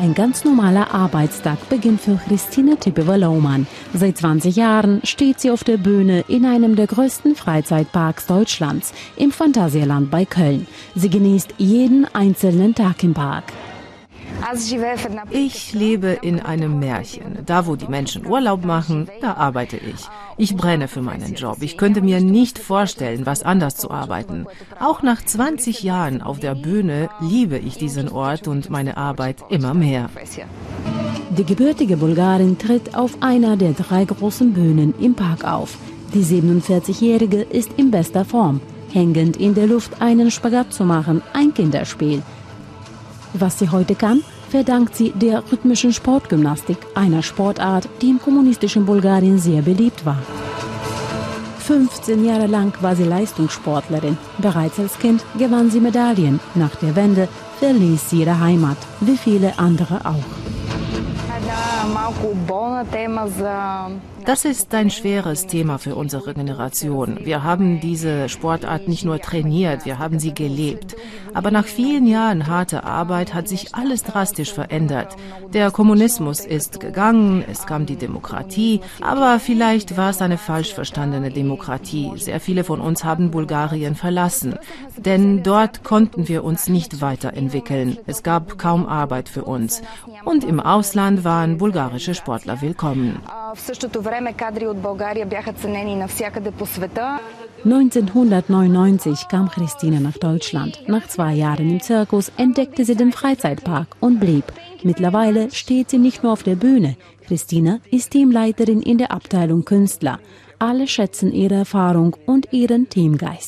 Ein ganz normaler Arbeitstag beginnt für Christina Tepeva-Lohmann. Seit 20 Jahren steht sie auf der Bühne in einem der größten Freizeitparks Deutschlands, im Phantasialand bei Köln. Sie genießt jeden einzelnen Tag im Park. Ich lebe in einem Märchen. Da, wo die Menschen Urlaub machen, da arbeite ich. Ich brenne für meinen Job. Ich könnte mir nicht vorstellen, was anders zu arbeiten. Auch nach 20 Jahren auf der Bühne liebe ich diesen Ort und meine Arbeit immer mehr. Die gebürtige Bulgarin tritt auf einer der 3 großen Bühnen im Park auf. Die 47-Jährige ist in bester Form. Hängend in der Luft einen Spagat zu machen, ein Kinderspiel. Was sie heute kann, verdankt sie der rhythmischen Sportgymnastik, einer Sportart, die im kommunistischen Bulgarien sehr beliebt war. 15 Jahre lang war sie Leistungssportlerin. Bereits als Kind gewann sie Medaillen. Nach der Wende verließ sie ihre Heimat, wie viele andere auch. Das ist ein schweres Thema für unsere Generation. Wir haben diese Sportart nicht nur trainiert, wir haben sie gelebt. Aber nach vielen Jahren harter Arbeit hat sich alles drastisch verändert. Der Kommunismus ist gegangen, es kam die Demokratie, aber vielleicht war es eine falsch verstandene Demokratie. Sehr viele von uns haben Bulgarien verlassen, denn dort konnten wir uns nicht weiterentwickeln. Es gab kaum Arbeit für uns. Und im Ausland waren bulgarische Sportler willkommen. 1999 kam Christina nach Deutschland. Nach 2 Jahren im Zirkus entdeckte sie den Freizeitpark und blieb. Mittlerweile steht sie nicht nur auf der Bühne. Christina ist Teamleiterin in der Abteilung Künstler. Alle schätzen ihre Erfahrung und ihren Teamgeist.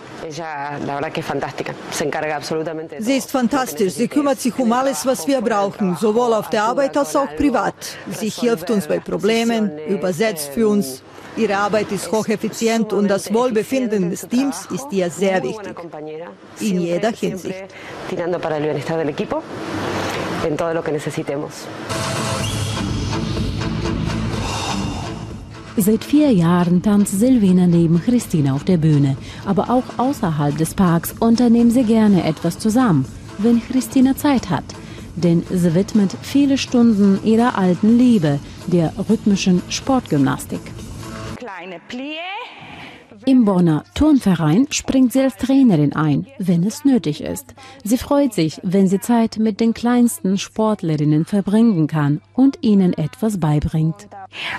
Sie ist fantastisch. Sie kümmert sich um alles, was wir brauchen, sowohl auf der Arbeit als auch privat. Sie hilft uns bei Problemen, übersetzt für uns. Ihre Arbeit ist hocheffizient und das Wohlbefinden des Teams ist ihr sehr wichtig. In jeder Hinsicht. Seit 4 Jahren tanzt Silvina neben Christina auf der Bühne. Aber auch außerhalb des Parks unternehmen sie gerne etwas zusammen, wenn Christina Zeit hat. Denn sie widmet viele Stunden ihrer alten Liebe, der rhythmischen Sportgymnastik. Im Bonner Turnverein springt sie als Trainerin ein, wenn es nötig ist. Sie freut sich, wenn sie Zeit mit den kleinsten Sportlerinnen verbringen kann und ihnen etwas beibringt.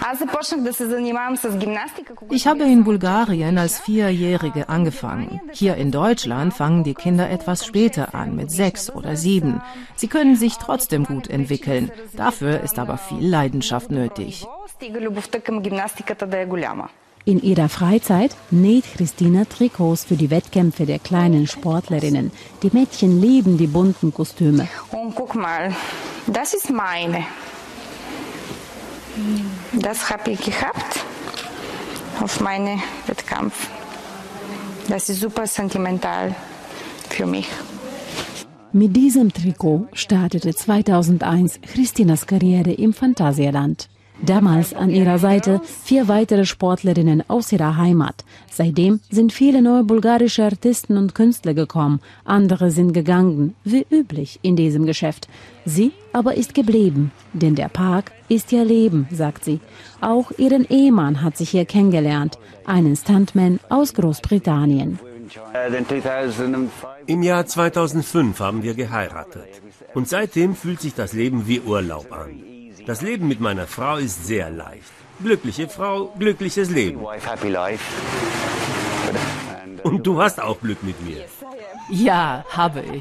Ich habe in Bulgarien als 4-Jährige angefangen. Hier in Deutschland fangen die Kinder etwas später an, mit 6 oder 7. Sie können sich trotzdem gut entwickeln. Dafür ist aber viel Leidenschaft nötig. In ihrer Freizeit näht Christina Trikots für die Wettkämpfe der kleinen Sportlerinnen. Die Mädchen lieben die bunten Kostüme. Und guck mal, das ist meine. Das habe ich gehabt auf meinem Wettkampf. Das ist super sentimental für mich. Mit diesem Trikot startete 2001 Christinas Karriere im Phantasialand. Damals an ihrer Seite 4 weitere Sportlerinnen aus ihrer Heimat. Seitdem sind viele neue bulgarische Artisten und Künstler gekommen. Andere sind gegangen, wie üblich in diesem Geschäft. Sie aber ist geblieben, denn der Park ist ihr Leben, sagt sie. Auch ihren Ehemann hat sich hier kennengelernt, einen Stuntman aus Großbritannien. Im Jahr 2005 haben wir geheiratet. Und seitdem fühlt sich das Leben wie Urlaub an. Das Leben mit meiner Frau ist sehr leicht. Glückliche Frau, glückliches Leben. Und du hast auch Glück mit mir. Ja, habe ich.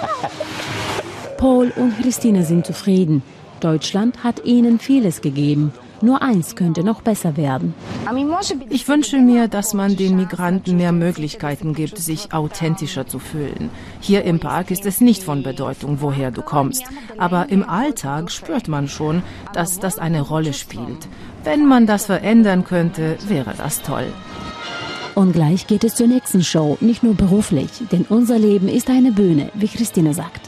Paul und Christine sind zufrieden. Deutschland hat ihnen vieles gegeben. Nur eins könnte noch besser werden. Ich wünsche mir, dass man den Migranten mehr Möglichkeiten gibt, sich authentischer zu fühlen. Hier im Park ist es nicht von Bedeutung, woher du kommst. Aber im Alltag spürt man schon, dass das eine Rolle spielt. Wenn man das verändern könnte, wäre das toll. Und gleich geht es zur nächsten Show, nicht nur beruflich, denn unser Leben ist eine Bühne, wie Christine sagt.